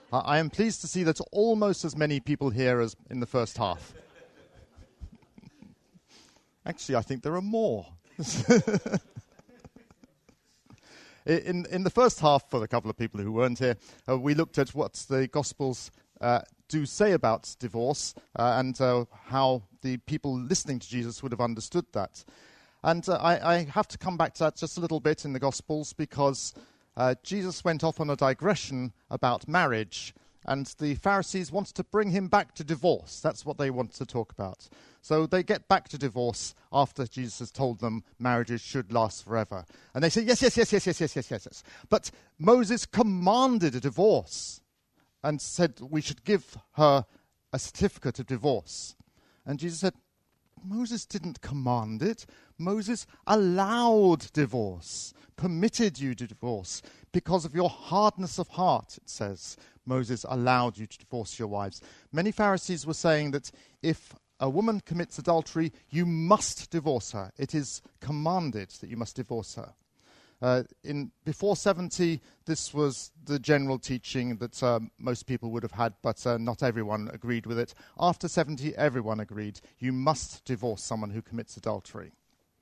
I am pleased to see that almost as many people here as in the first half. Actually, I think there are more. In the first half, for a couple of people who weren't here, we looked at what the Gospels do say about divorce and how the people listening to Jesus would have understood that. And I have to come back to that just a little bit in the Gospels because Jesus went off on a digression about marriage, and the Pharisees wanted to bring him back to divorce. That's what they wanted to talk about. So they get back to divorce after Jesus has told them marriages should last forever. And they say, yes. But Moses commanded a divorce and said we should give her a certificate of divorce. And Jesus said, Moses didn't command it. Moses allowed divorce, permitted you to divorce because of your hardness of heart, it says. Moses allowed you to divorce your wives. Many Pharisees were saying that if a woman commits adultery, you must divorce her. It is commanded that you must divorce her. Before 70, this was the general teaching that most people would have had, but not everyone agreed with it. After 70, everyone agreed. You must divorce someone who commits adultery.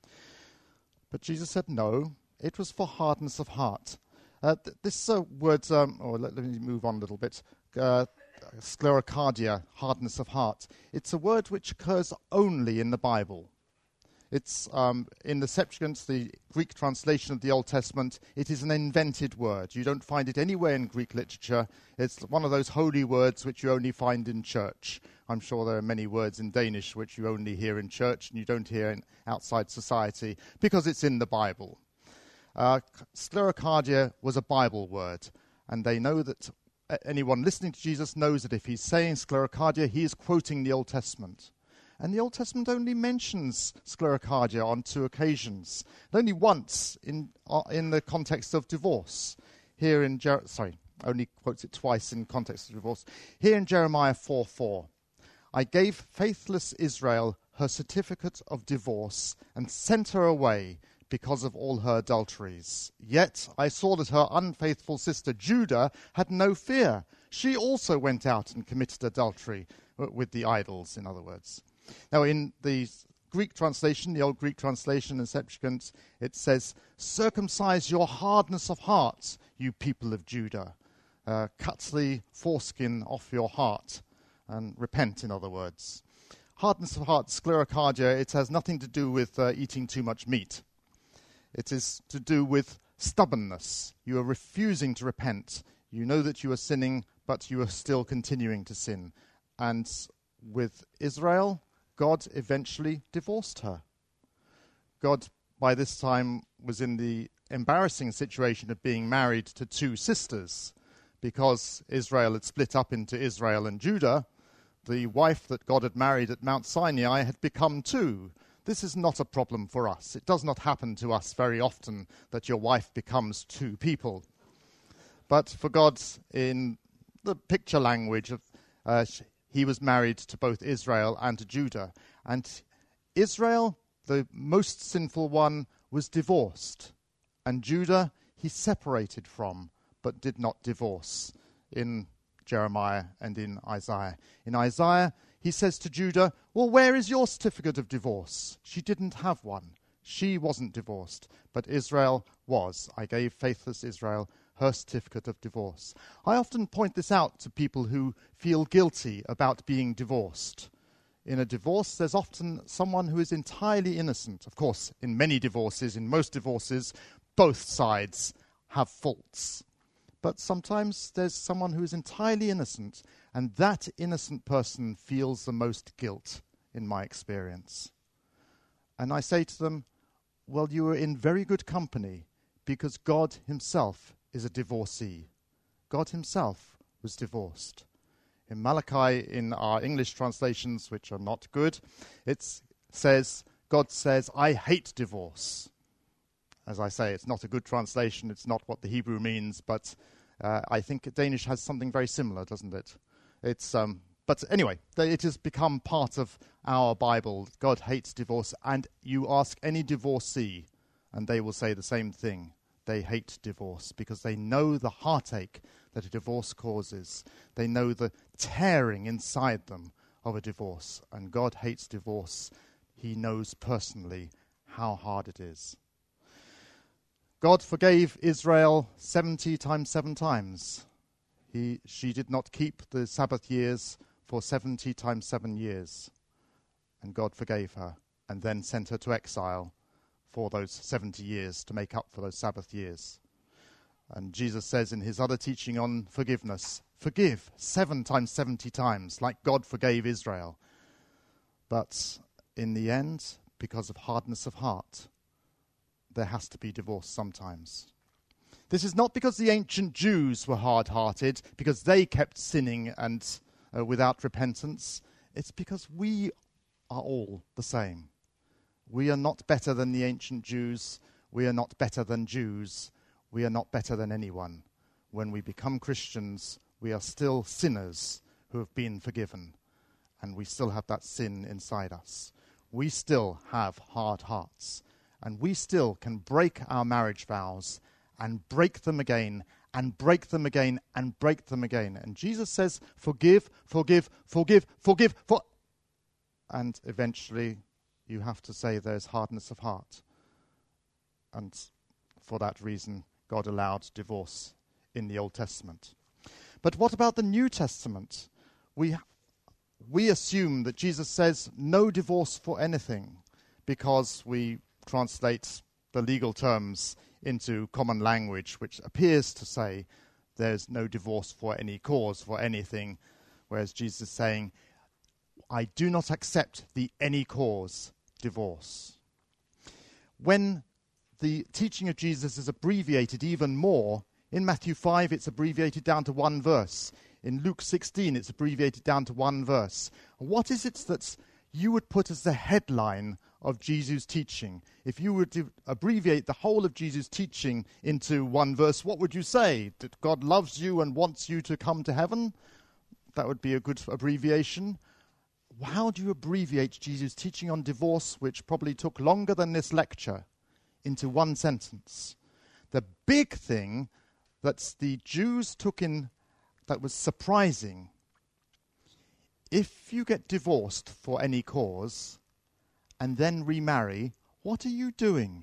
But Jesus said no. It was for hardness of heart. This word, let me move on a little bit. Sclerocardia, hardness of heart. It's a word which occurs only in the Bible. It's in the Septuagint, the Greek translation of the Old Testament. It is an invented word. You don't find it anywhere in Greek literature. It's one of those holy words which you only find in church. I'm sure there are many words in Danish which you only hear in church and you don't hear outside society because it's in the Bible. Sclerocardia was a Bible word, and they know that anyone listening to Jesus knows that if he's saying sclerocardia, he is quoting the Old Testament. And the Old Testament only mentions sclerocardia on 2 occasions, and only once in the context of divorce. Here in only quotes it twice in context of divorce. Here in Jeremiah 4:4, I gave faithless Israel her certificate of divorce and sent her away because of all her adulteries. Yet I saw that her unfaithful sister Judah had no fear. She also went out and committed adultery with the idols, in other words. Now, in the Greek translation, the old Greek translation in Septuagint, it says, circumcise your hardness of heart, you people of Judah. Cut the foreskin off your heart and repent, in other words. Hardness of heart, sclerocardia, it has nothing to do with eating too much meat. It is to do with stubbornness. You are refusing to repent. You know that you are sinning, but you are still continuing to sin. And with Israel, God eventually divorced her. God, by this time, was in the embarrassing situation of being married to 2 sisters. Because Israel had split up into Israel and Judah, the wife that God had married at Mount Sinai had become 2. This is not a problem for us. It does not happen to us very often that your wife becomes 2 people. But for God, in the picture language, he was married to both Israel and to Judah. And Israel, the most sinful one, was divorced. And Judah, he separated from, but did not divorce, in Jeremiah and in Isaiah. In Isaiah, he says to Judah, well, where is your certificate of divorce? She didn't have one. She wasn't divorced, but Israel was. I gave faithless Israel her certificate of divorce. I often point this out to people who feel guilty about being divorced. In a divorce, there's often someone who is entirely innocent. Of course, in many divorces, in most divorces, both sides have faults. But sometimes there's someone who is entirely innocent, and that innocent person feels the most guilt, in my experience. And I say to them, well, you are in very good company, because God himself is a divorcee. God himself was divorced. In Malachi, in our English translations, which are not good, God says, I hate divorce. As I say, it's not a good translation. It's not what the Hebrew means, but I think Danish has something very similar, doesn't it? But anyway, it has become part of our Bible. God hates divorce, and you ask any divorcee, and they will say the same thing. They hate divorce because they know the heartache that a divorce causes. They know the tearing inside them of a divorce. And God hates divorce. He knows personally how hard it is. God forgave Israel 70 times 7 times. She did not keep the Sabbath years for 70 times 7 years. And God forgave her and then sent her to exile for those 70 years to make up for those Sabbath years. And Jesus says in his other teaching on forgiveness, forgive 7 times 70 times, like God forgave Israel. But in the end, because of hardness of heart, there has to be divorce sometimes. This is not because the ancient Jews were hard-hearted, because they kept sinning and without repentance. It's because we are all the same. We are not better than the ancient Jews. We are not better than Jews. We are not better than anyone. When we become Christians, we are still sinners who have been forgiven, and we still have that sin inside us. We still have hard hearts, and we still can break our marriage vows and break them again and break them again and break them again. And Jesus says, forgive, forgive, forgive, forgive, and eventually you have to say there's hardness of heart. And for that reason, God allowed divorce in the Old Testament. But what about the New Testament? We assume that Jesus says no divorce for anything because we translate the legal terms into common language, which appears to say there's no divorce for any cause, for anything, whereas Jesus is saying, I do not accept the any cause divorce. When the teaching of Jesus is abbreviated even more, in Matthew 5 it's abbreviated down to 1 verse. In Luke 16 it's abbreviated down to 1 verse. What is it that you would put as the headline of Jesus' teaching? If you were to abbreviate the whole of Jesus' teaching into 1 verse, what would you say? That God loves you and wants you to come to heaven? That would be a good abbreviation. How do you abbreviate Jesus' teaching on divorce, which probably took longer than this lecture, into 1 sentence? The big thing that the Jews took in that was surprising, if you get divorced for any cause and then remarry, what are you doing?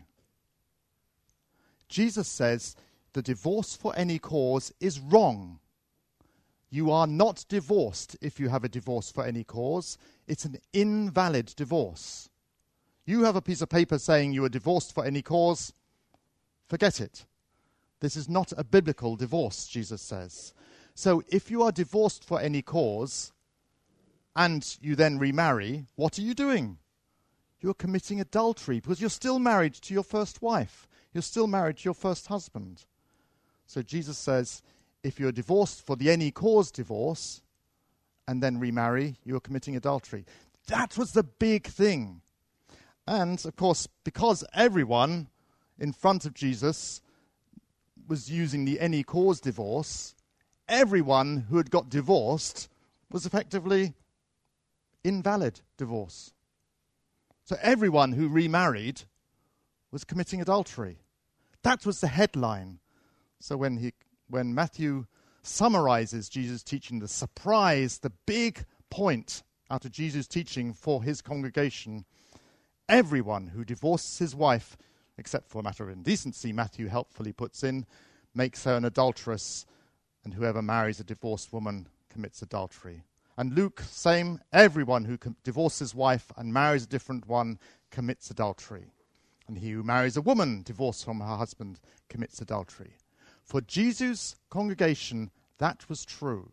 Jesus says the divorce for any cause is wrong. You are not divorced if you have a divorce for any cause. It's an invalid divorce. You have a piece of paper saying you are divorced for any cause. Forget it. This is not a biblical divorce, Jesus says. So if you are divorced for any cause and you then remarry, what are you doing? You're committing adultery because you're still married to your first wife. You're still married to your first husband. So Jesus says, if you're divorced for the any cause divorce and then remarry, you're committing adultery. That was the big thing. And, of course, because everyone in front of Jesus was using the any cause divorce, everyone who had got divorced was effectively invalid divorce. So everyone who remarried was committing adultery. That was the headline. So when Matthew summarizes Jesus' teaching, the surprise, the big point out of Jesus' teaching for his congregation, everyone who divorces his wife, except for a matter of indecency, Matthew helpfully puts in, makes her an adulteress, and whoever marries a divorced woman commits adultery. And Luke, same, everyone who divorces his wife and marries a different one commits adultery. And he who marries a woman divorced from her husband commits adultery. For Jesus' congregation, that was true.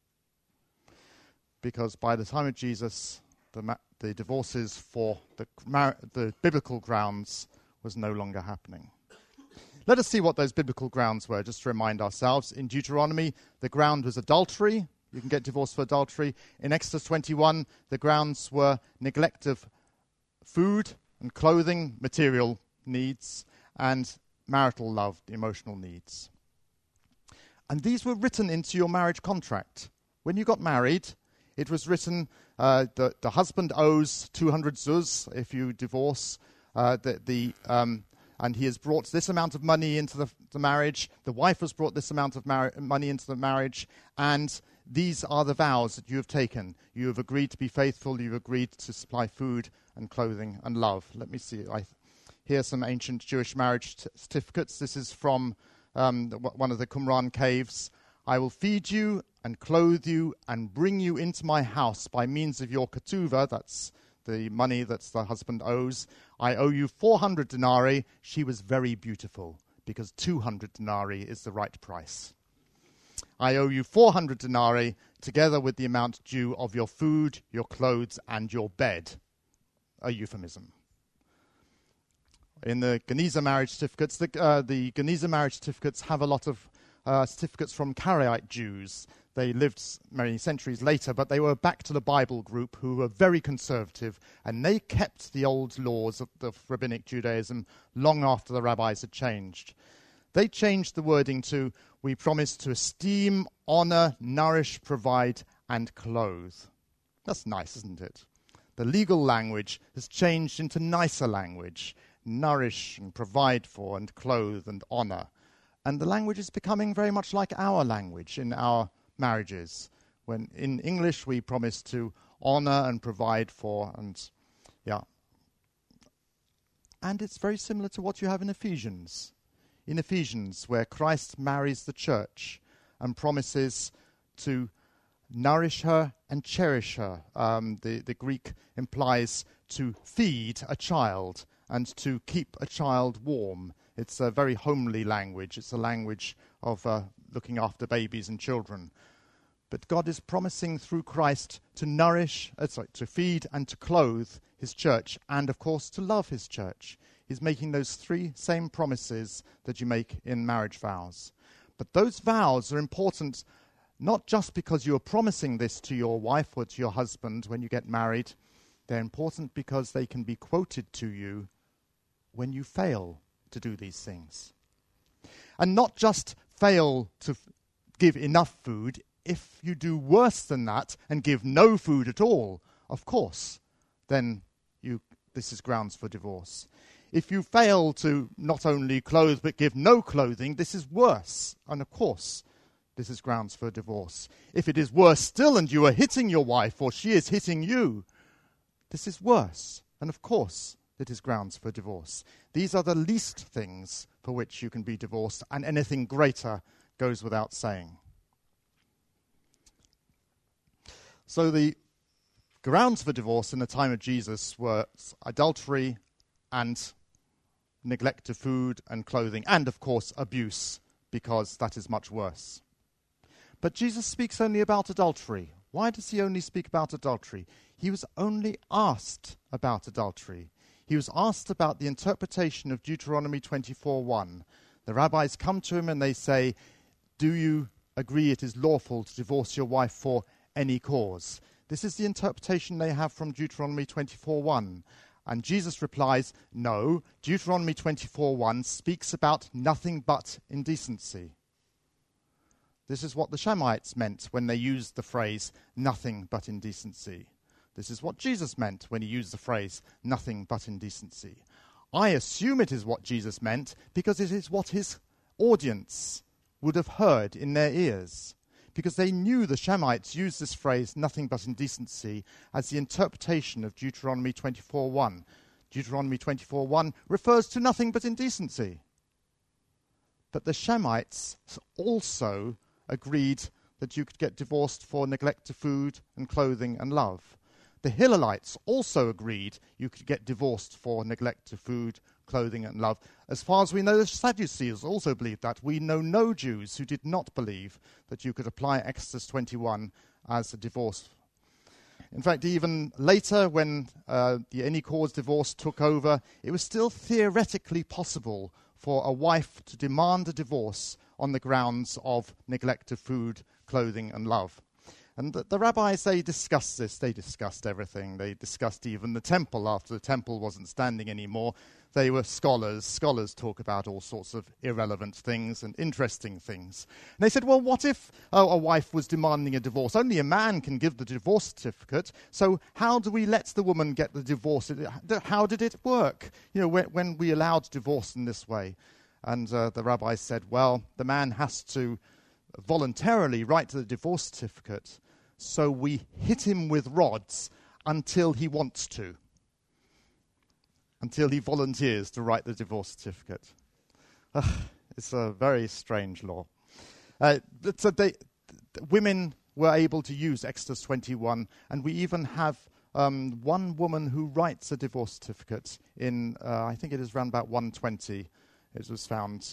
Because by the time of Jesus, the divorces for the biblical grounds was no longer happening. Let us see what those biblical grounds were, just to remind ourselves. In Deuteronomy, the ground was adultery. You can get divorced for adultery. In Exodus 21, the grounds were neglect of food and clothing, material needs, and marital love, emotional needs. And these were written into your marriage contract. When you got married, it was written, the husband owes 200 zuz if you divorce. The and he has brought this amount of money into the marriage. The wife has brought this amount of money into the marriage, and these are the vows that you have taken. You have agreed to be faithful. You've agreed to supply food and clothing and love. Let me see. Here are some ancient Jewish marriage certificates. This is from one of the Qumran caves. I will feed you and clothe you and bring you into my house by means of your ketuvah. That's the money that the husband owes. I owe you 400 denarii. She was very beautiful, because 200 denarii is the right price. I owe you 400 denarii, together with the amount due of your food, your clothes, and your bed. A euphemism. In the Geniza marriage certificates, the Geniza marriage certificates have a lot of certificates from Karaite Jews. They lived many centuries later, but they were back to the Bible group, who were very conservative, and they kept the old laws of rabbinic Judaism long after the rabbis had changed. They changed the wording to, we promise to esteem, honor, nourish, provide, and clothe. That's nice, isn't it? The legal language has changed into nicer language. Nourish and provide for and clothe and honor. And the language is becoming very much like our language in our marriages. When in English we promise to honor and provide for, and it's very similar to what you have in Ephesians. In Ephesians, where Christ marries the church and promises to nourish her and cherish her. The Greek implies to feed a child and to keep a child warm. It's a very homely language. It's a language of looking after babies and children. But God is promising through Christ to feed and to clothe his church, and of course to love his church. He's making those three same promises that you make in marriage vows. But those vows are important not just because you are promising this to your wife or to your husband when you get married. They're important because they can be quoted to you when you fail to do these things. And not just fail to give enough food. If you do worse than that and give no food at all, of course, then this is grounds for divorce. If you fail to not only clothe but give no clothing, this is worse. And of course, this is grounds for divorce. If it is worse still and you are hitting your wife or she is hitting you, this is worse. And of course, it is grounds for divorce. These are the least things for which you can be divorced, and anything greater goes without saying. So the grounds for divorce in the time of Jesus were adultery and neglect of food and clothing, and of course abuse, because that is much worse. But Jesus speaks only about adultery. Why does he only speak about adultery? He was only asked about adultery. He was asked about the interpretation of Deuteronomy 24:1. The rabbis come to him and they say, do you agree it is lawful to divorce your wife for any cause? This is the interpretation they have from Deuteronomy 24:1. And Jesus replies, no, Deuteronomy 24:1 speaks about nothing but indecency. This is what the Shemites meant when they used the phrase, nothing but indecency. This is what Jesus meant when he used the phrase, nothing but indecency. I assume it is what Jesus meant because it is what his audience would have heard in their ears, because they knew the Shemites used this phrase, nothing but indecency, as the interpretation of Deuteronomy 24:1. Deuteronomy 24:1 refers to nothing but indecency. But the Shemites also agreed that you could get divorced for neglect of food and clothing and love. The Hillelites also agreed you could get divorced for neglect of food, clothing and love. As far as we know, the Sadducees also believed that. We know no Jews who did not believe that you could apply Exodus 21 as a divorce. In fact, even later, when the any cause divorce took over, it was still theoretically possible for a wife to demand a divorce on the grounds of neglect of food, clothing and love. And the rabbis, they discussed this. They discussed everything. They discussed even the temple. After the temple wasn't standing anymore, they were scholars. Scholars talk about all sorts of irrelevant things and interesting things. And they said, well, what if a wife was demanding a divorce? Only a man can give the divorce certificate. So how do we let the woman get the divorce? How did it work? You know, when we allowed divorce in this way? And the rabbis said, well, the man has to voluntarily write the divorce certificate. So we hit him with rods until he wants to, until he volunteers to write the divorce certificate. It's a very strange law. So women were able to use Exodus 21, and we even have one woman who writes a divorce certificate in, I think it is around about 120. It was found,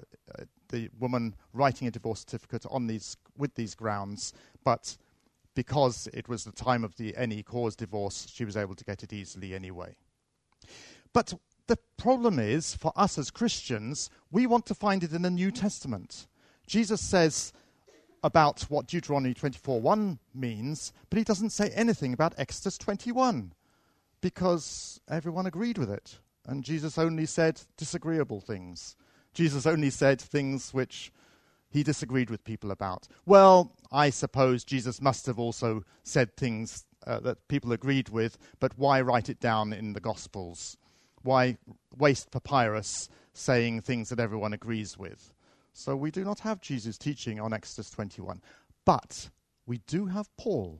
the woman writing a divorce certificate with these grounds, but because it was the time of the any cause divorce, she was able to get it easily anyway. But the problem is, for us as Christians, we want to find it in the New Testament. Jesus says about what Deuteronomy 24:1 means, but he doesn't say anything about Exodus 21, because everyone agreed with it. And Jesus only said disagreeable things. Jesus only said things which he disagreed with people about. Well, I suppose Jesus must have also said things that people agreed with, but why write it down in the Gospels? Why waste papyrus saying things that everyone agrees with? So we do not have Jesus' teaching on Exodus 21. But we do have Paul.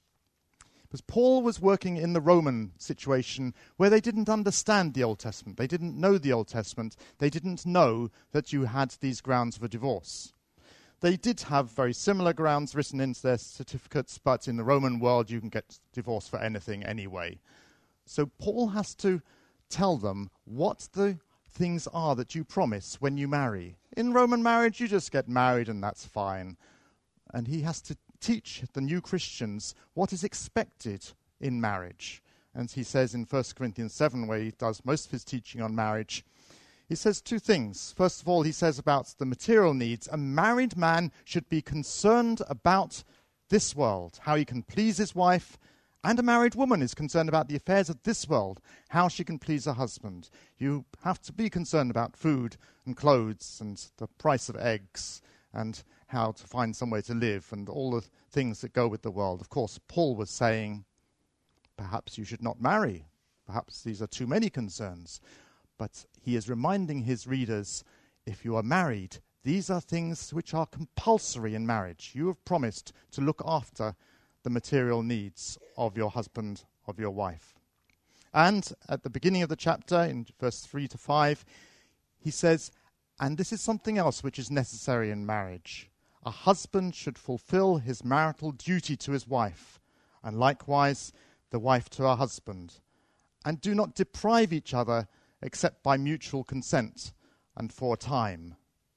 Because Paul was working in the Roman situation where they didn't understand the Old Testament. They didn't know the Old Testament. They didn't know that you had these grounds for divorce. They did have very similar grounds written into their certificates, but in the Roman world you can get divorce for anything anyway. So Paul has to tell them what the things are that you promise when you marry. In Roman marriage, you just get married and that's fine. And he has to teach the new Christians what is expected in marriage. And he says in 1 Corinthians 7, where he does most of his teaching on marriage, he says two things. First of all, he says about the material needs. A married man should be concerned about this world, how he can please his wife, and a married woman is concerned about the affairs of this world, how she can please her husband. You have to be concerned about food and clothes and the price of eggs and how to find somewhere to live and all the things that go with the world. Of course, Paul was saying, perhaps you should not marry. Perhaps these are too many concerns. But he is reminding his readers, if you are married, these are things which are compulsory in marriage. You have promised to look after the material needs of your husband, of your wife. And at the beginning of the chapter, in verse 3 to 5, he says, and this is something else which is necessary in marriage. A husband should fulfill his marital duty to his wife, and likewise the wife to her husband. And do not deprive each other except by mutual consent and for a time.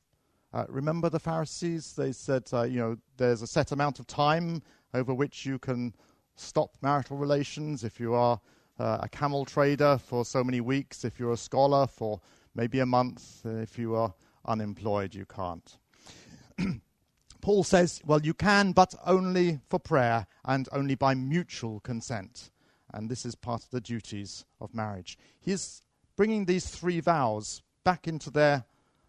Remember the Pharisees? They said, there's a set amount of time over which you can stop marital relations. If you are a camel trader for so many weeks, if you're a scholar for maybe a month, if you are unemployed, you can't. Paul says, well, you can, but only for prayer and only by mutual consent. And this is part of the duties of marriage. He is bringing these three vows back into their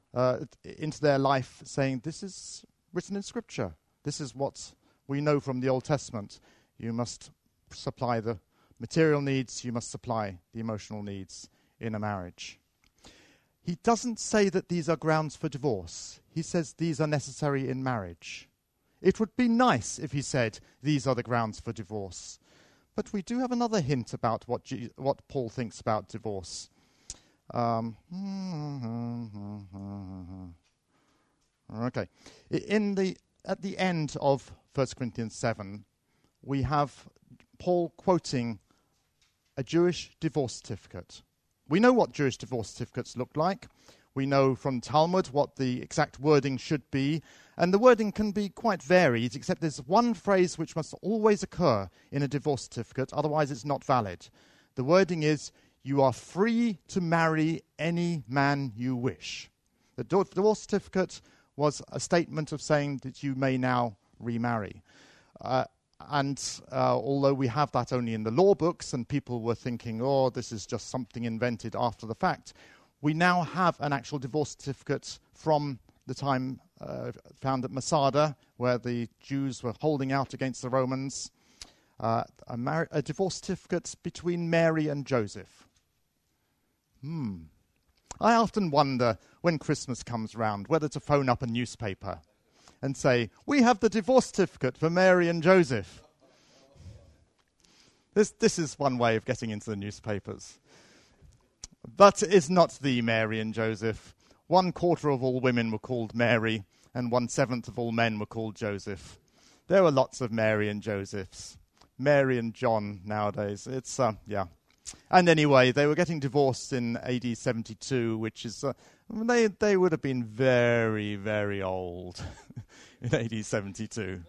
life, saying, this is written in Scripture. This is what we know from the Old Testament. You must supply the material needs, you must supply the emotional needs in a marriage. He doesn't say that these are grounds for divorce. He says these are necessary in marriage. It would be nice if he said these are the grounds for divorce. But we do have another hint about what Paul thinks about divorce. Okay. At the end of 1 Corinthians 7, we have Paul quoting a Jewish divorce certificate. We know what Jewish divorce certificates look like. We know from Talmud what the exact wording should be. And the wording can be quite varied, except there's one phrase which must always occur in a divorce certificate, otherwise it's not valid. The wording is, you are free to marry any man you wish. The divorce certificate was a statement of saying that you may now remarry. although we have that only in the law books and people were thinking, oh, this is just something invented after the fact, we now have an actual divorce certificate from the time found at Masada, where the Jews were holding out against the Romans, a divorce certificate between Mary and Joseph. I often wonder, when Christmas comes round, whether to phone up a newspaper and say, we have the divorce certificate for Mary and Joseph. This is one way of getting into the newspapers. But it's not the Mary and Joseph. 1/4 of all women were called Mary, and 1/7 of all men were called Joseph. There were lots of Mary and Josephs. Mary and John nowadays. It's, yeah. And anyway, they were getting divorced in AD 72, which is, they would have been very, very old in AD 72.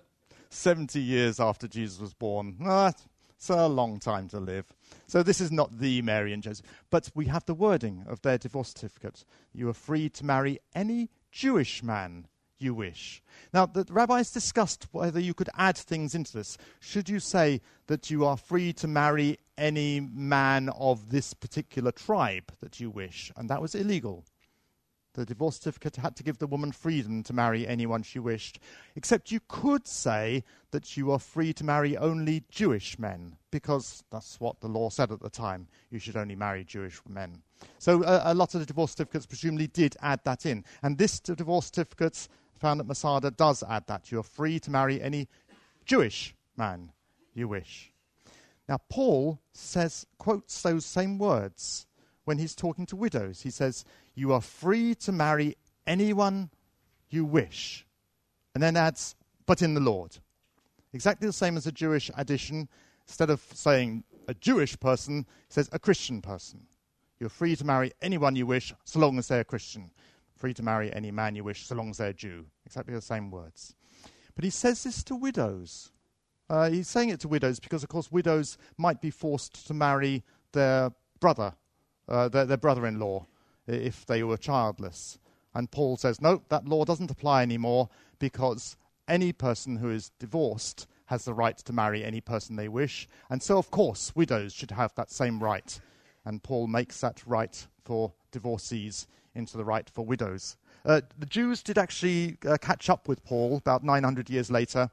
70 years after Jesus was born. It's a long time to live. So this is not the Mary and Joseph. But we have the wording of their divorce certificate. You are free to marry any Jewish man you wish. Now, the rabbis discussed whether you could add things into this. Should you say that you are free to marry any man of this particular tribe that you wish? And that was illegal. The divorce certificate had to give the woman freedom to marry anyone she wished, except you could say that you are free to marry only Jewish men, because that's what the law said at the time. You should only marry Jewish men. So a lot of the divorce certificates presumably did add that in. And this divorce certificate found at Masada does add that. You are free to marry any Jewish man you wish. Now, Paul quotes those same words when he's talking to widows. He says, you are free to marry anyone you wish. And then adds, but in the Lord. Exactly the same as a Jewish addition. Instead of saying a Jewish person, he says a Christian person. You're free to marry anyone you wish, so long as they're a Christian. Free to marry any man you wish, so long as they're a Jew. Exactly the same words. But he says this to widows. He's saying it to widows because, of course, widows might be forced to marry their brother, their brother-in-law, if they were childless. And Paul says, no, that law doesn't apply anymore, because any person who is divorced has the right to marry any person they wish. And so, of course, widows should have that same right. And Paul makes that right for divorcees into the right for widows. The Jews did actually catch up with Paul about 900 years later,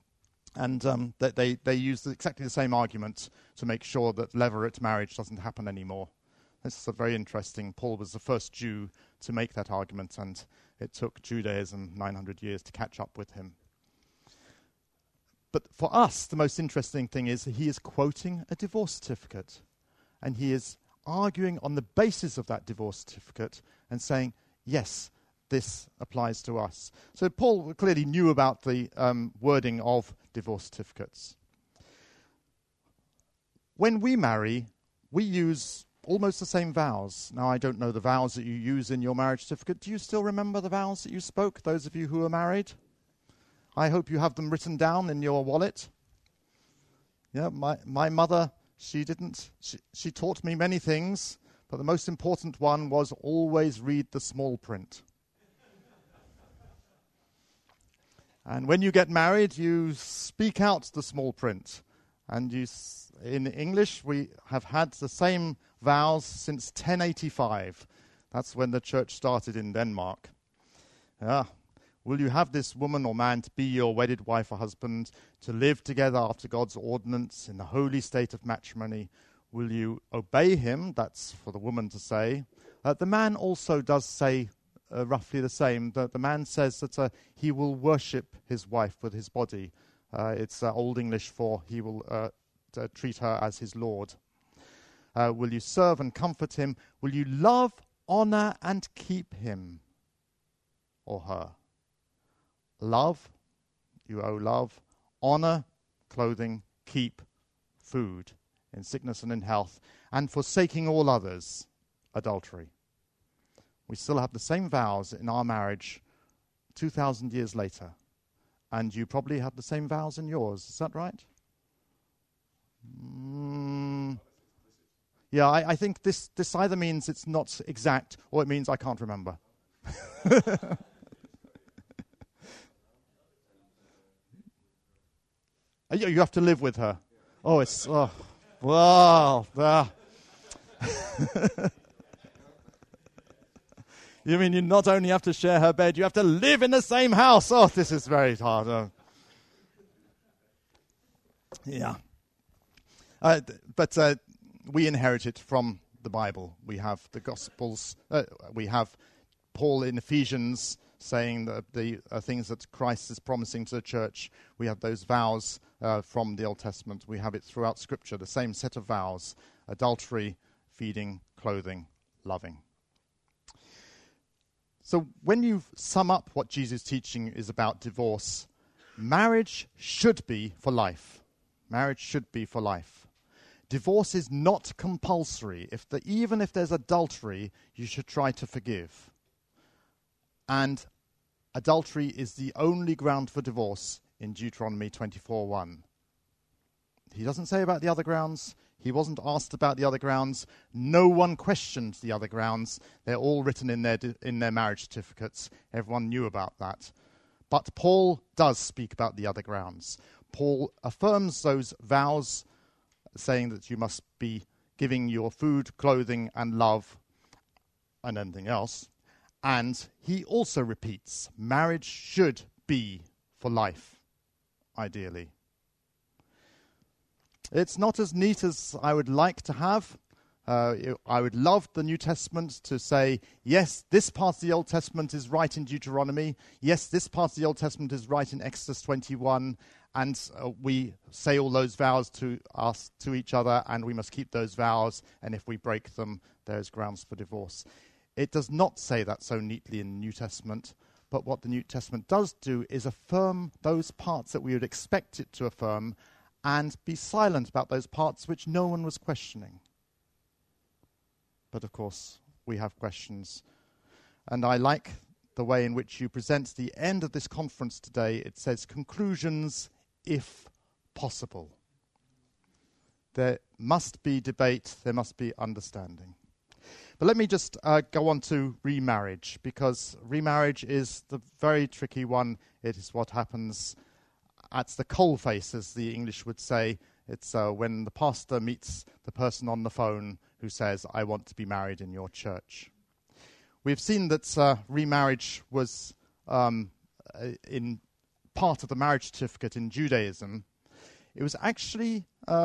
and they used exactly the same argument to make sure that levirate marriage doesn't happen anymore. This is very interesting. Paul was the first Jew to make that argument, and it took Judaism 900 years to catch up with him. But for us, the most interesting thing is he is quoting a divorce certificate, and he is arguing on the basis of that divorce certificate and saying, yes, this applies to us. So Paul clearly knew about the wording of divorce certificates. When we marry, we use almost the same vows. Now, I don't know the vows that you use in your marriage certificate. Do you still remember the vows that you spoke, those of you who are married? I hope you have them written down in your wallet. Yeah, my mother, she taught me many things, but the most important one was always read the small print. And when you get married, you speak out the small print. And in English, we have had the same vows since 1085. That's when the church started in Denmark. Will you have this woman or man to be your wedded wife or husband, to live together after God's ordinance in the holy state of matrimony? Will you obey him? That's for the woman to say. The man also does say roughly the same. The man says that he will worship his wife with his body. It's Old English for he will treat her as his Lord. Will you serve and comfort him? Will you love, honor, and keep him or her? Love, you owe love. Honor, clothing. Keep, food, in sickness and in health. And forsaking all others, adultery. We still have the same vows in our marriage 2,000 years later. And you probably have the same vows in yours. Is that right? Yeah, I think this either means it's not exact or it means I can't remember. You have to live with her. Oh, it's... Oh, wow. You mean you not only have to share her bed, you have to live in the same house. Oh, this is very hard. Yeah. But we inherit it from the Bible. We have the Gospels. We have Paul in Ephesians saying that the things that Christ is promising to the church. We have those vows from the Old Testament. We have it throughout Scripture, the same set of vows: adultery, feeding, clothing, loving. So when you sum up what Jesus' teaching is about divorce, marriage should be for life. Marriage should be for life. Divorce is not compulsory. Even if there's adultery, you should try to forgive. And adultery is the only ground for divorce in Deuteronomy 24:1. He doesn't say about the other grounds. He wasn't asked about the other grounds. No one questioned the other grounds. They're all written in their marriage certificates. Everyone knew about that. But Paul does speak about the other grounds. Paul affirms those vows, saying that you must be giving your food, clothing, and love, and anything else. And he also repeats, marriage should be for life, ideally. It's not as neat as I would like to have. I would love the New Testament to say, yes, this part of the Old Testament is right in Deuteronomy. Yes, this part of the Old Testament is right in Exodus 21. And we say all those vows to each other, and we must keep those vows. And if we break them, there's grounds for divorce. It does not say that so neatly in the New Testament. But what the New Testament does do is affirm those parts that we would expect it to affirm, and be silent about those parts which no one was questioning. But of course, we have questions. And I like the way in which you present the end of this conference today. It says, conclusions, if possible. There must be debate, there must be understanding. But let me just go on to remarriage, because remarriage is the very tricky one. It is what happens at the coalface, as the English would say. It's when the pastor meets the person on the phone who says, I want to be married in your church. We've seen that remarriage was in part of the marriage certificate in Judaism. It was actually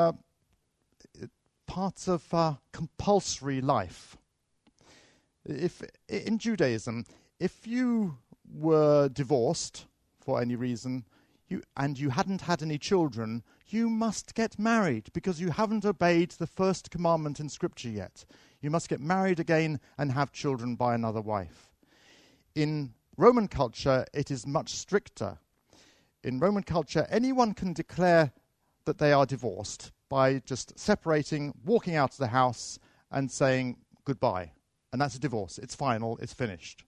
part of compulsory life. If in Judaism, if you were divorced for any reason, and you hadn't had any children, you must get married because you haven't obeyed the first commandment in Scripture yet. You must get married again and have children by another wife. In Roman culture, it is much stricter. In Roman culture, anyone can declare that they are divorced by just separating, walking out of the house and saying goodbye. And that's a divorce. It's final. It's finished.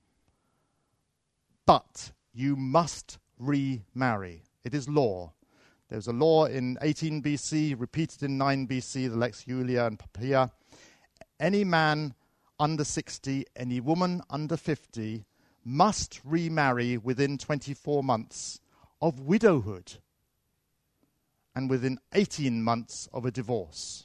But you must remarry. It is law. There's a law in 18 BC, repeated in 9 BC, the Lex Julia and Poppaea. Any man under 60, any woman under 50 must remarry within 24 months of widowhood and within 18 months of a divorce.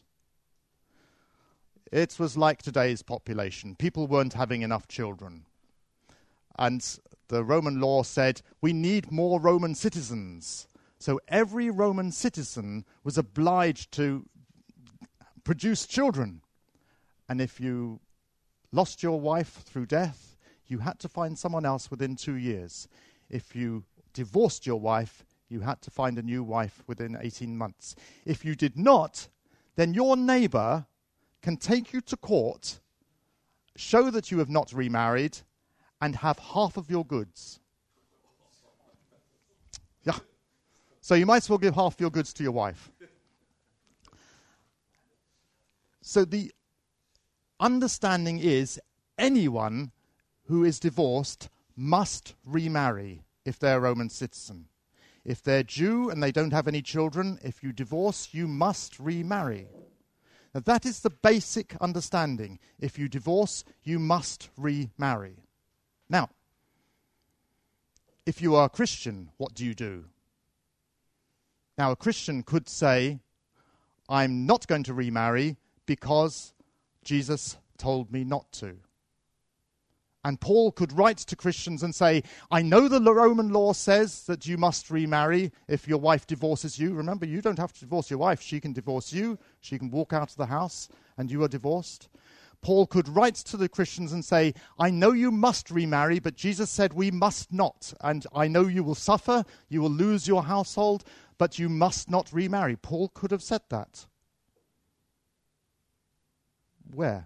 It was like today's population. People weren't having enough children. And the Roman law said, we need more Roman citizens. So every Roman citizen was obliged to produce children. And if you lost your wife through death, you had to find someone else within 2 years. If you divorced your wife, you had to find a new wife within 18 months. If you did not, then your neighbor can take you to court, show that you have not remarried, and have half of your goods. Yeah. So you might as well give half your goods to your wife. So the understanding is anyone who is divorced must remarry if they're a Roman citizen. If they're Jew and they don't have any children, if you divorce, you must remarry. Now that is the basic understanding. If you divorce, you must remarry. Now, if you are a Christian, what do you do? Now, a Christian could say, I'm not going to remarry because Jesus told me not to. And Paul could write to Christians and say, I know the Roman law says that you must remarry if your wife divorces you. Remember, you don't have to divorce your wife. She can divorce you. She can walk out of the house and you are divorced. Paul could write to the Christians and say, I know you must remarry, but Jesus said we must not. And I know you will suffer, you will lose your household, but you must not remarry. Paul could have said that. Where?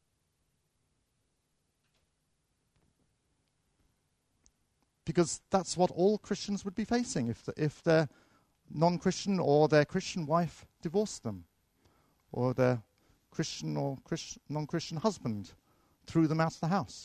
Because that's what all Christians would be facing if their non-Christian or their Christian wife divorced them, or their Christian or non-Christian husband threw them out of the house.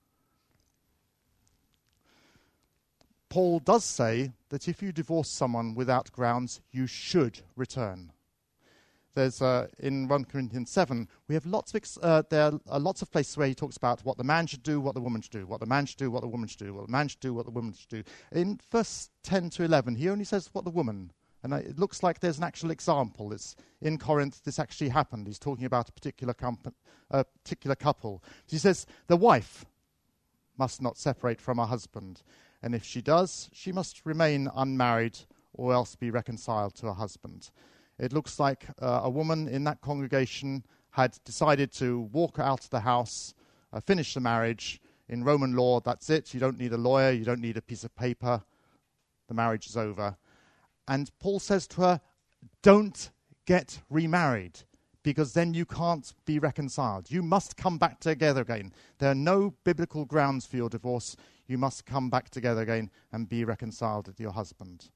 Paul does say that if you divorce someone without grounds, you should return. There's in 1 Corinthians 7, we have there are lots of places where he talks about what the man should do, what the woman should do, what the man should do, what the woman should do, what the man should do, what the woman should do. In verse 10 to 11, he only says what the woman. And it looks like there's an actual example. It's in Corinth, this actually happened. He's talking about a particular couple. He says, the wife must not separate from her husband. And if she does, she must remain unmarried or else be reconciled to her husband. It looks like a woman in that congregation had decided to walk out of the house, finish the marriage. In Roman law, that's it. You don't need a lawyer. You don't need a piece of paper. The marriage is over. And Paul says to her, don't get remarried, because then you can't be reconciled. You must come back together again. There are no biblical grounds for your divorce. You must come back together again and be reconciled with your husband.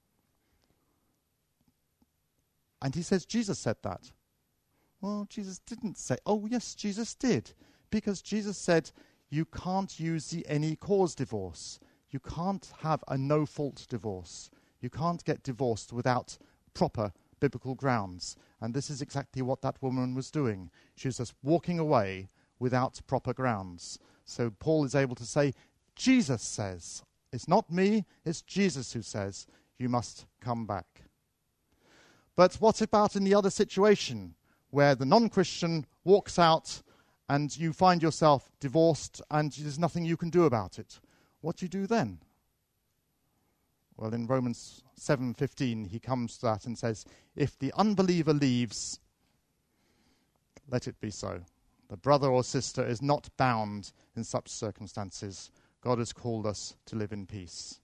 And he says, Jesus said that. Well, Jesus didn't say. Oh, yes, Jesus did. Because Jesus said, you can't use the any cause divorce. You can't have a no-fault divorce. You can't get divorced without proper biblical grounds. And this is exactly what that woman was doing. She was just walking away without proper grounds. So Paul is able to say, Jesus says, it's not me, it's Jesus who says, you must come back. But what about in the other situation, where the non-Christian walks out and you find yourself divorced and there's nothing you can do about it? What do you do then? Well, in Romans 7:15, he comes to that and says, if the unbeliever leaves, let it be so. The brother or sister is not bound in such circumstances. God has called us to live in peace.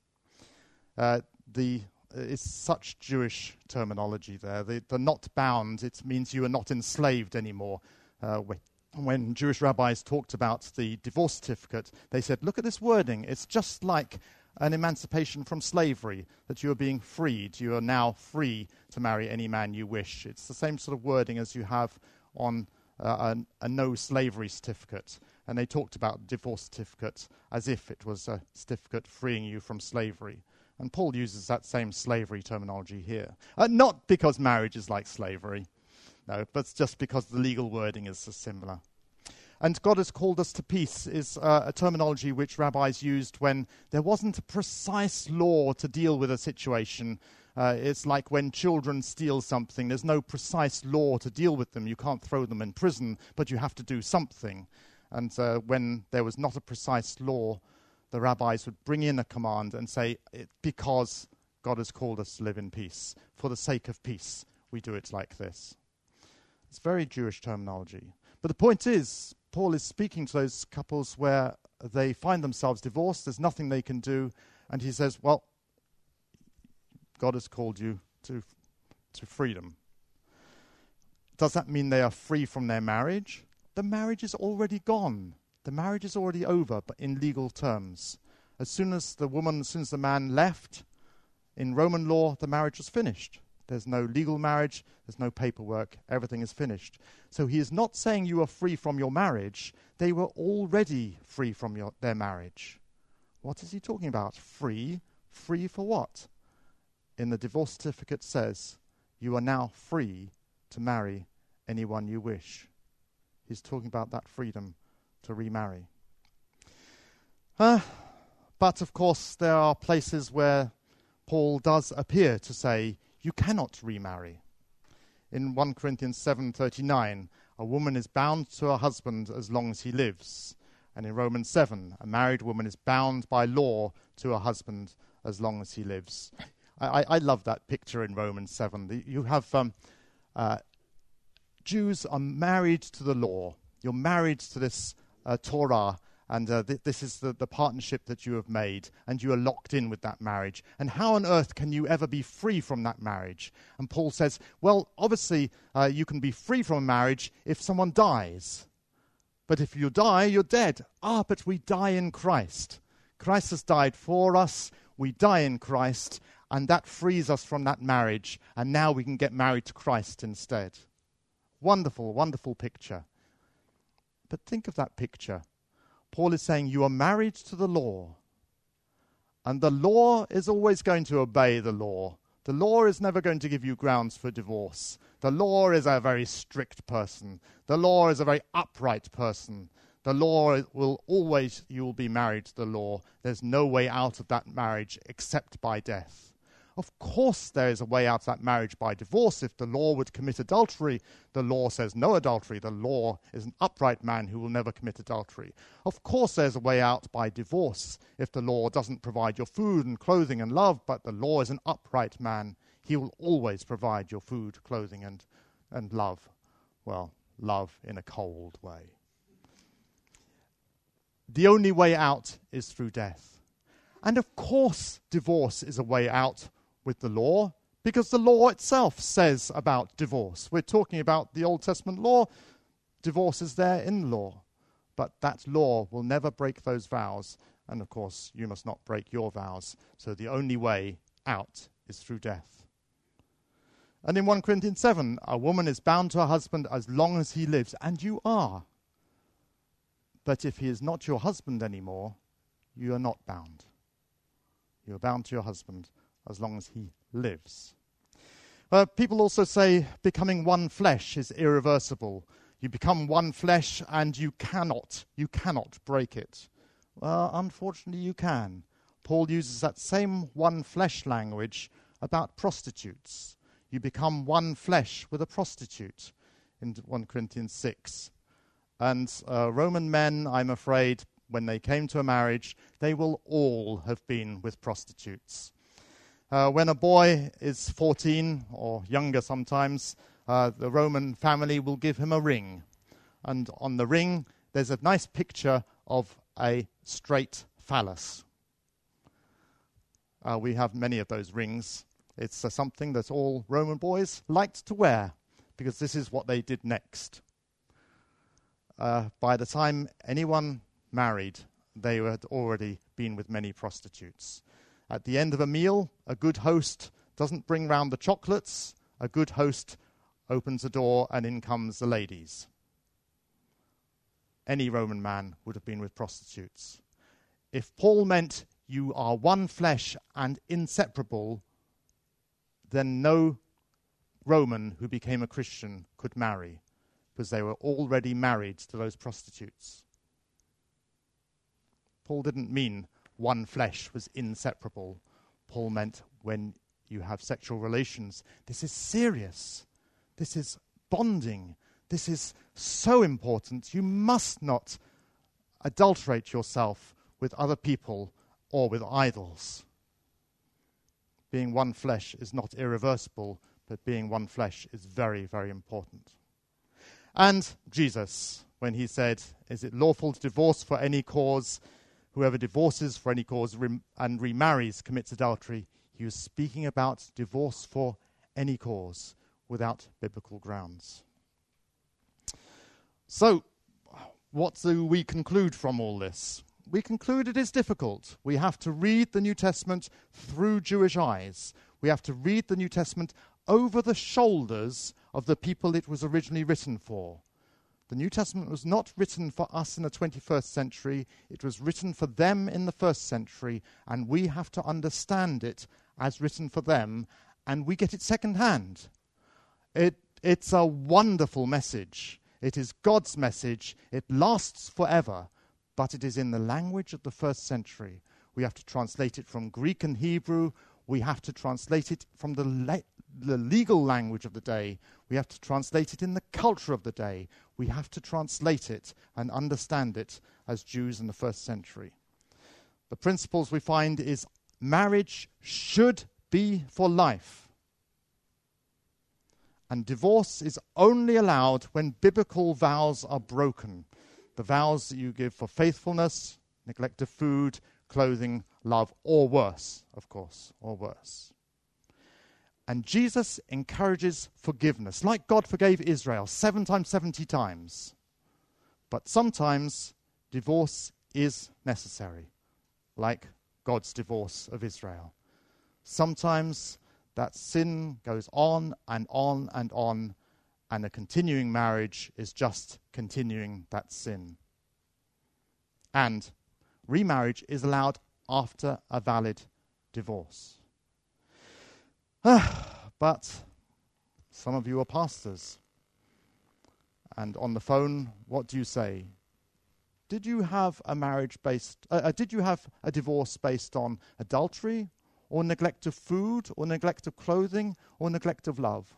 It's such Jewish terminology there. The not bound, it means you are not enslaved anymore. When Jewish rabbis talked about the divorce certificate, they said, look at this wording. It's just like an emancipation from slavery, that you are being freed. You are now free to marry any man you wish. It's the same sort of wording as you have on a no slavery certificate. And they talked about divorce certificate as if it was a certificate freeing you from slavery. And Paul uses that same slavery terminology here. Not because marriage is like slavery, no, but just because the legal wording is so similar. And God has called us to peace is a terminology which rabbis used when there wasn't a precise law to deal with a situation. It's like when children steal something. There's no precise law to deal with them. You can't throw them in prison, but you have to do something. And when there was not a precise law, the rabbis would bring in a command and say, because God has called us to live in peace, for the sake of peace, we do it like this. It's very Jewish terminology. But the point is, Paul is speaking to those couples where they find themselves divorced, there's nothing they can do, and he says, well, God has called you to freedom. Does that mean they are free from their marriage? The marriage is already gone. The marriage is already over, but in legal terms. As soon as the man left, in Roman law, the marriage was finished. There's no legal marriage, there's no paperwork, everything is finished. So he is not saying you are free from your marriage. They were already free from their marriage. What is he talking about? Free? Free for what? In the divorce certificate says, you are now free to marry anyone you wish. He's talking about that freedom to remarry. But of course, there are places where Paul does appear to say, you cannot remarry. In 1 Corinthians 7:39, a woman is bound to her husband as long as he lives. And in Romans 7, a married woman is bound by law to her husband as long as he lives. I love that picture in Romans 7. You have Jews are married to the law. You're married to this Torah, and this is the partnership that you have made, and you are locked in with that marriage. And how on earth can you ever be free from that marriage? And Paul says, well, obviously you can be free from a marriage if someone dies. But if you die, you're dead. But we die in Christ. Christ has died for us. We die in Christ, and that frees us from that marriage. And now we can get married to Christ instead. Wonderful, wonderful picture. But think of that picture. Paul is saying you are married to the law. And the law is always going to obey the law. The law is never going to give you grounds for divorce. The law is a very strict person. The law is a very upright person. The law will always, you will be married to the law. There's no way out of that marriage except by death. Of course there is a way out of that marriage by divorce. If the law would commit adultery, the law says no adultery. The law is an upright man who will never commit adultery. Of course there's a way out by divorce. If the law doesn't provide your food and clothing and love, but the law is an upright man, he will always provide your food, clothing and love. Well, love in a cold way. The only way out is through death. And of course divorce is a way out with the law, because the law itself says about divorce. We're talking about the Old Testament law. Divorce is there in the law. But that law will never break those vows. And of course, you must not break your vows. So the only way out is through death. And in 1 Corinthians 7, a woman is bound to her husband as long as he lives. And you are. But if he is not your husband anymore, you are not bound. You are bound to your husband as long as he lives. People also say becoming one flesh is irreversible. You become one flesh and you cannot break it. Well, unfortunately you can. Paul uses that same one flesh language about prostitutes. You become one flesh with a prostitute in 1 Corinthians 6. And Roman men, I'm afraid, when they came to a marriage, they will all have been with prostitutes. When a boy is 14 or younger sometimes, the Roman family will give him a ring. And on the ring, there's a nice picture of a straight phallus. We have many of those rings. It's something that all Roman boys liked to wear, because this is what they did next. By the time anyone married, they had already been with many prostitutes. At the end of a meal, a good host doesn't bring round the chocolates. A good host opens a door and in comes the ladies. Any Roman man would have been with prostitutes. If Paul meant you are one flesh and inseparable, then no Roman who became a Christian could marry, because they were already married to those prostitutes. Paul didn't mean one flesh was inseparable. Paul meant when you have sexual relations, this is serious. This is bonding. This is so important. You must not adulterate yourself with other people or with idols. Being one flesh is not irreversible, but being one flesh is very, very important. And Jesus, when he said, is it lawful to divorce for any cause? Whoever divorces for any cause and remarries commits adultery. He was speaking about divorce for any cause without biblical grounds. So, what do we conclude from all this? We conclude it is difficult. We have to read the New Testament through Jewish eyes. We have to read the New Testament over the shoulders of the people it was originally written for. The New Testament was not written for us in the 21st century. It was written for them in the first century, and we have to understand it as written for them, and we get it secondhand. It's a wonderful message. It is God's message. It lasts forever, but it is in the language of the first century. We have to translate it from Greek and Hebrew. We have to translate it from the the legal language of the day. We have to translate it in the culture of the day. We have to translate it and understand it as Jews in the first century. The principles we find is marriage should be for life. And divorce is only allowed when biblical vows are broken. The vows that you give for faithfulness, neglect of food, clothing, love, or worse, of course, or worse. And Jesus encourages forgiveness, like God forgave Israel 7 times, 70 times. But sometimes divorce is necessary, like God's divorce of Israel. Sometimes that sin goes on and on and on, and a continuing marriage is just continuing that sin. And remarriage is allowed after a valid divorce. But some of you are pastors. And on the phone, what do you say? Did you have a did you have a divorce based on adultery, or neglect of food, or neglect of clothing, or neglect of love?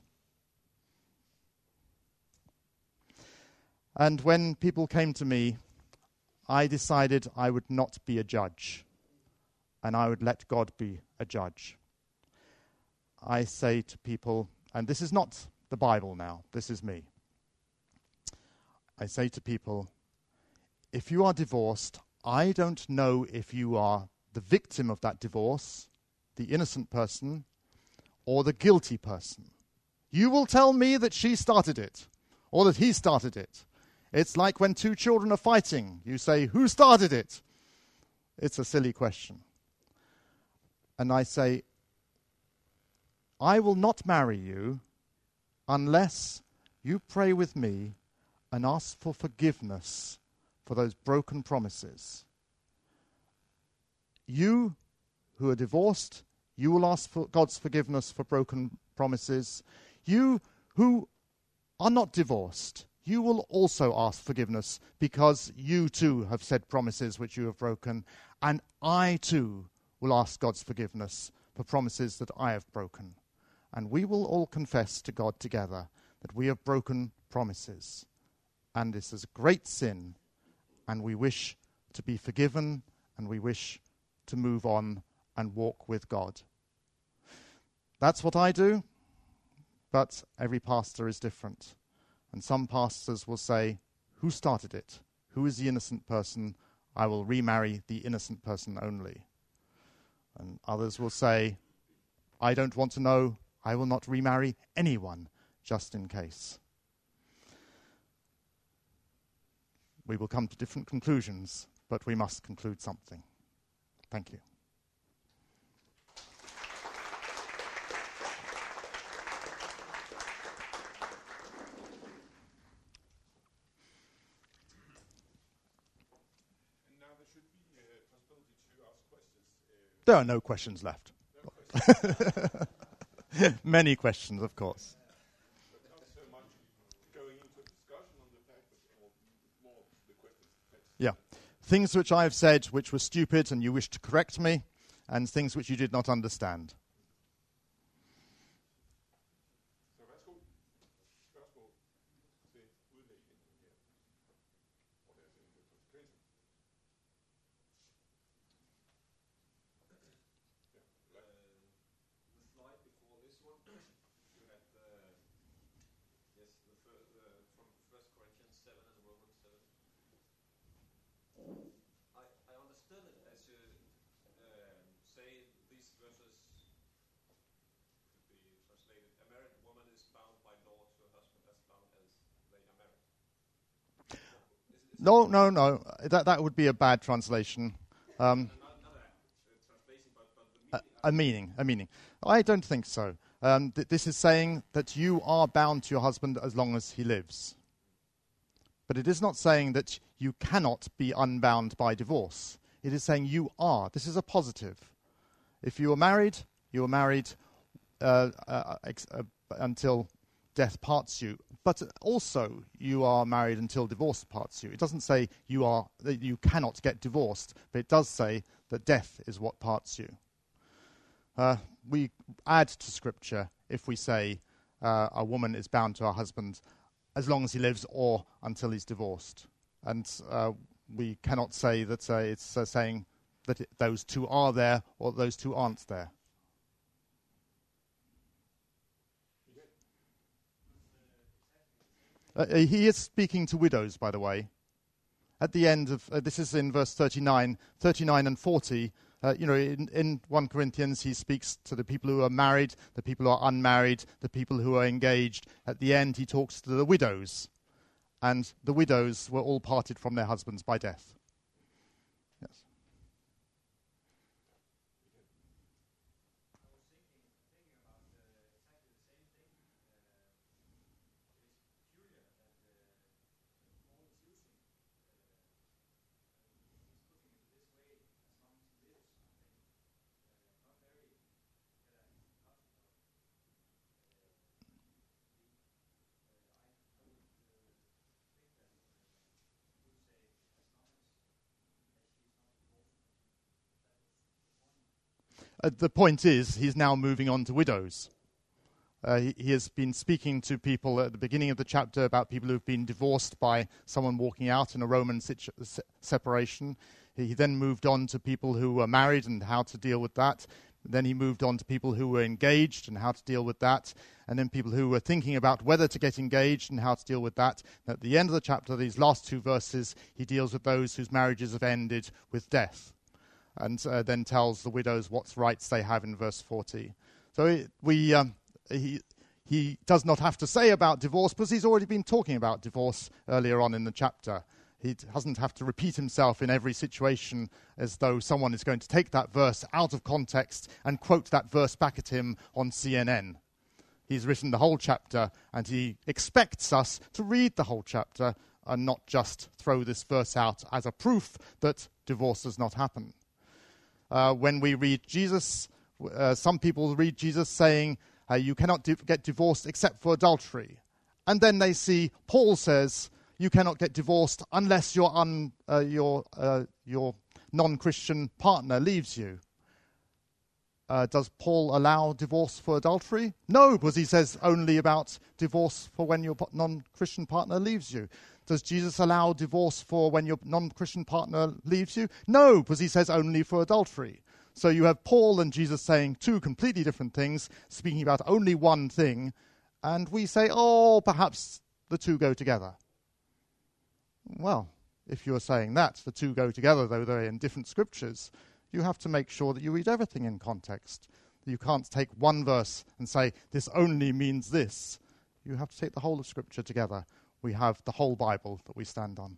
And when people came to me, I decided I would not be a judge, and I would let God be a judge. I say to people, and this is not the Bible now, this is me. I say to people, if you are divorced, I don't know if you are the victim of that divorce, the innocent person, or the guilty person. You will tell me that she started it, or that he started it. It's like when 2 children are fighting. You say, who started it? It's a silly question. And I say, I will not marry you unless you pray with me and ask for forgiveness for those broken promises. You who are divorced, you will ask for God's forgiveness for broken promises. You who are not divorced, you will also ask forgiveness because you too have said promises which you have broken. And I too will ask God's forgiveness for promises that I have broken. And we will all confess to God together that we have broken promises. And this is a great sin. And we wish to be forgiven, and we wish to move on and walk with God. That's what I do, but every pastor is different. And some pastors will say, who started it? Who is the innocent person? I will remarry the innocent person only. And others will say, I don't want to know. I will not remarry anyone, just in case. We will come to different conclusions, but we must conclude something. Thank you. And now there should be a possibility to ask questions. There are no questions left. Many questions, of course. But not so much going into a discussion on the fact, but more the questions. Yeah. Things which I have said which were stupid and you wish to correct me, and things which you did not understand. Så værsgo. Spørgsmål til udlægningen her. Og deres enkelte konsekvenser. The slide before this one, you had from 1 Corinthians 7 and Romans 7. I understood it as you say these verses could be translated: a married woman is bound by law to her husband as long as they are married. No. That would be a bad translation. Not translation, but the meaning. A meaning. I don't think so. This is saying that you are bound to your husband as long as he lives. But it is not saying that you cannot be unbound by divorce. It is saying you are. This is a positive. If you are married until death parts you. But also you are married until divorce parts you. It doesn't say that you cannot get divorced, but it does say that death is what parts you. We add to Scripture if we say a woman is bound to her husband as long as he lives or until he's divorced. And we cannot say that it's saying that those two are there or those two aren't there. He is speaking to widows, by the way. At the end of, this is in verse 39 and 40, in 1 Corinthians he speaks to the people who are married, the people who are unmarried, the people who are engaged. At the end he talks to the widows. And the widows were all parted from their husbands by death. Yes. The point is, he's now moving on to widows. He has been speaking to people at the beginning of the chapter about people who've been divorced by someone walking out in a Roman separation. He then moved on to people who were married and how to deal with that. Then he moved on to people who were engaged and how to deal with that. And then people who were thinking about whether to get engaged and how to deal with that. And at the end of the chapter, these last two verses, he deals with those whose marriages have ended with death. And then tells the widows what rights they have in verse 40. So he does not have to say about divorce because he's already been talking about divorce earlier on in the chapter. He doesn't have to repeat himself in every situation as though someone is going to take that verse out of context and quote that verse back at him on CNN. He's written the whole chapter and he expects us to read the whole chapter and not just throw this verse out as a proof that divorce does not happen. When we read Jesus, some people read Jesus saying, you cannot get divorced except for adultery. And then they see Paul says, you cannot get divorced unless your non-Christian partner leaves you. Does Paul allow divorce for adultery? No, because he says only about divorce for when your non-Christian partner leaves you. Does Jesus allow divorce for when your non-Christian partner leaves you? No, because he says only for adultery. So you have Paul and Jesus saying two completely different things, speaking about only one thing, and we say, oh, perhaps the two go together. Well, if you're saying that, the two go together, though they're in different scriptures, you have to make sure that you read everything in context. You can't take one verse and say, this only means this. You have to take the whole of Scripture together. We have the whole Bible that we stand on.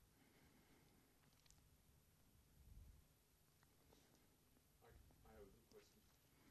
I have a question.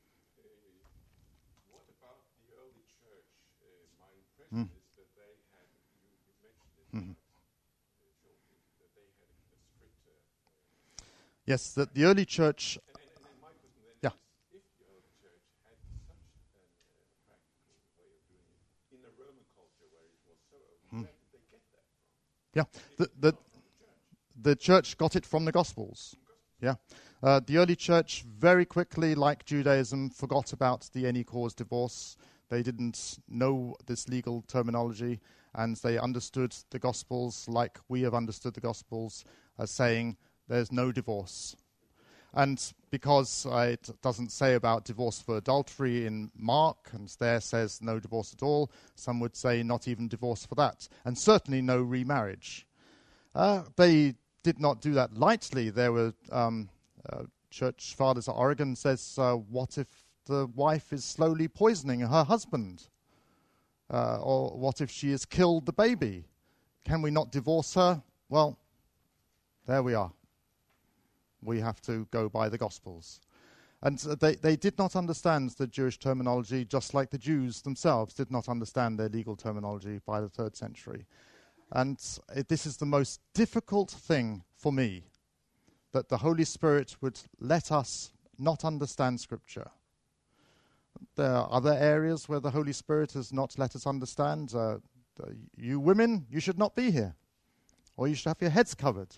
What about the early church? My impression is that they had, you mentioned it, that they had a stricter... Yes, that the early church... And my question then is, if the early church had such a practical way of doing it, in a Roman culture where it was so open, where did they get that from? Yeah, the church got it from the Gospels. Yeah, the early church very quickly, like Judaism, forgot about the any cause divorce. They didn't know this legal terminology, and they understood the Gospels like we have understood the Gospels as saying there's no divorce. And because it doesn't say about divorce for adultery in Mark, and there says no divorce at all, some would say not even divorce for that, and certainly no remarriage. They did not do that lightly. There were church fathers at Oregon says, what if the wife is slowly poisoning her husband? Or what if she has killed the baby? Can we not divorce her? Well, there we are. We have to go by the Gospels. And they did not understand the Jewish terminology, just like the Jews themselves did not understand their legal terminology by the 3rd century. And this is the most difficult thing for me, that the Holy Spirit would let us not understand Scripture. There are other areas where the Holy Spirit has not let us understand. You women, you should not be here. Or you should have your heads covered.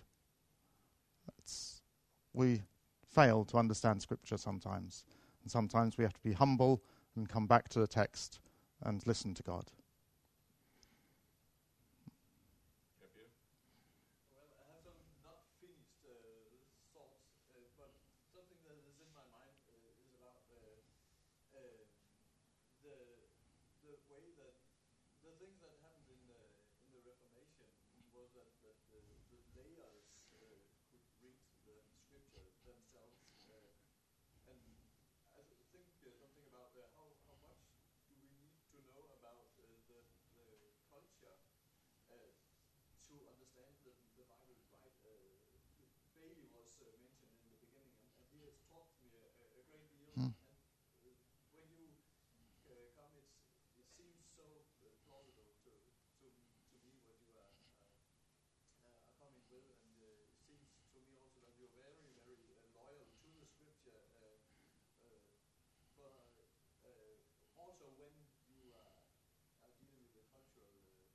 We fail to understand Scripture sometimes. And sometimes we have to be humble and come back to the text and listen to God. Well, I have some not finished thoughts, but something that is in my mind is about the way that the things that happened in the Reformation was that the layers could read the scripture themselves, and I think something about how much do we need to know about the culture to understand the Bible right. Bailey was mentioned in the beginning, and he has taught me a great deal. And when you come, it seems so plausible to me what you are coming with, and it seems to me also that you're very, very loyal to the scripture. But also when you are dealing with the cultural issues.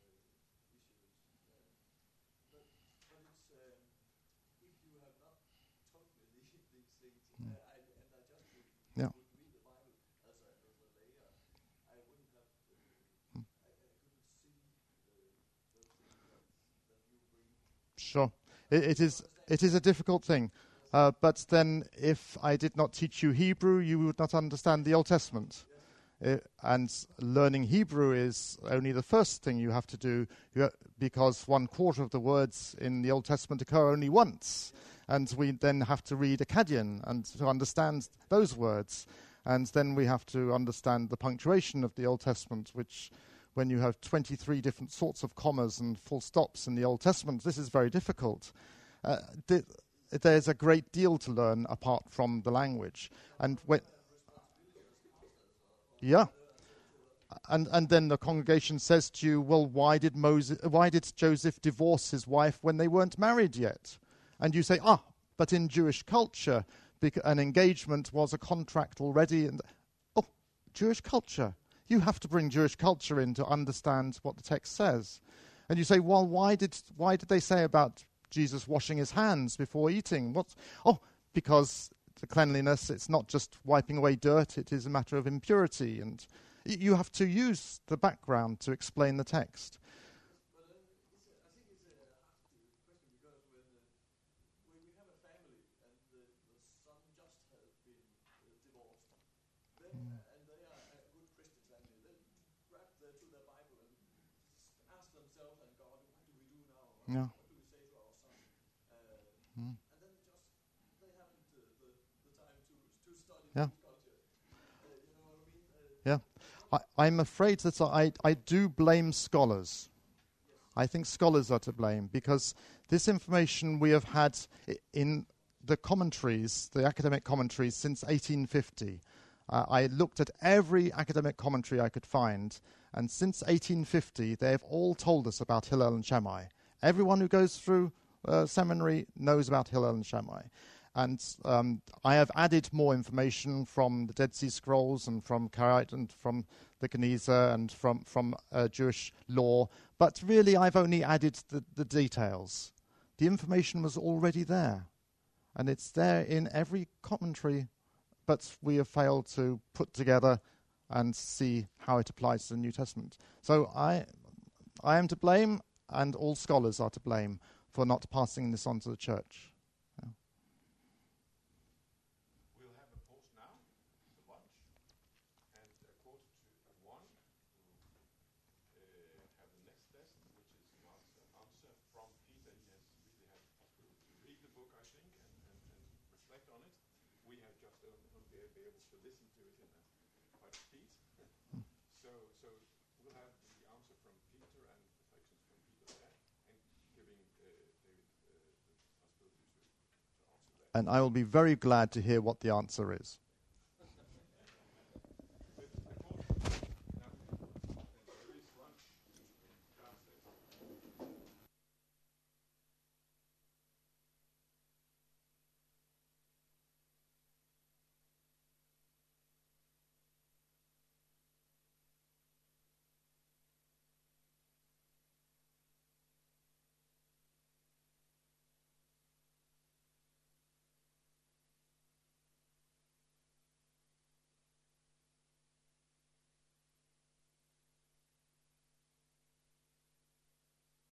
But it's if you have not told me these things, I just Yeah. would read the Bible as a layer, I wouldn't have I couldn't see those things that you bring. Sure. It is a difficult thing. But then if I did not teach you Hebrew, you would not understand the Old Testament. And learning Hebrew is only the first thing you have to do, because 1/4 of the words in the Old Testament occur only once. And we then have to read Akkadian and to understand those words. And then we have to understand the punctuation of the Old Testament, which, when you have 23 different sorts of commas and full stops in the Old Testament, this is very difficult. There's a great deal to learn apart from the language. And when... Yeah. And then the congregation says to you, well, why did Joseph divorce his wife when they weren't married yet? And you say, but in Jewish culture, an engagement was a contract already. And Jewish culture. You have to bring Jewish culture in to understand what the text says. And you say, well, why did they say about Jesus washing his hands before eating? Because the cleanliness, it's not just wiping away dirt, it is a matter of impurity. And you have to use the background to explain the text. But I think it's a hard question, because when we have a family and the son just has been divorced, then and they are a good Christian family, they grab to their Bible and ask themselves and God, what do we do now? Yeah. What do we say to our son? Mm. And then they haven't the time to study Yeah. culture. You know what I mean? Yeah. I'm afraid that I do blame scholars. I think scholars are to blame, because this information we have had in the commentaries, the academic commentaries, since 1850. I looked at every academic commentary I could find, and since 1850 they have all told us about Hillel and Shammai. Everyone who goes through seminary knows about Hillel and Shammai. And I have added more information from the Dead Sea Scrolls and from Karaite and from the Geniza and from Jewish law. But really, I've only added the details. The information was already there. And it's there in every commentary, but we have failed to put together and see how it applies to the New Testament. So I am to blame, and all scholars are to blame for not passing this on to the church. We'll have a pause now, the lunch, and 1:45, have the next lesson, which is an answer from Peter. He has really had to read the book, I think, and reflect on it. We have just only been able to listen to it in quite a speed. So we'll have the answer from Peter and reflections from Peter there, and giving David the possibility to answer that. And I will be very glad to hear what the answer is.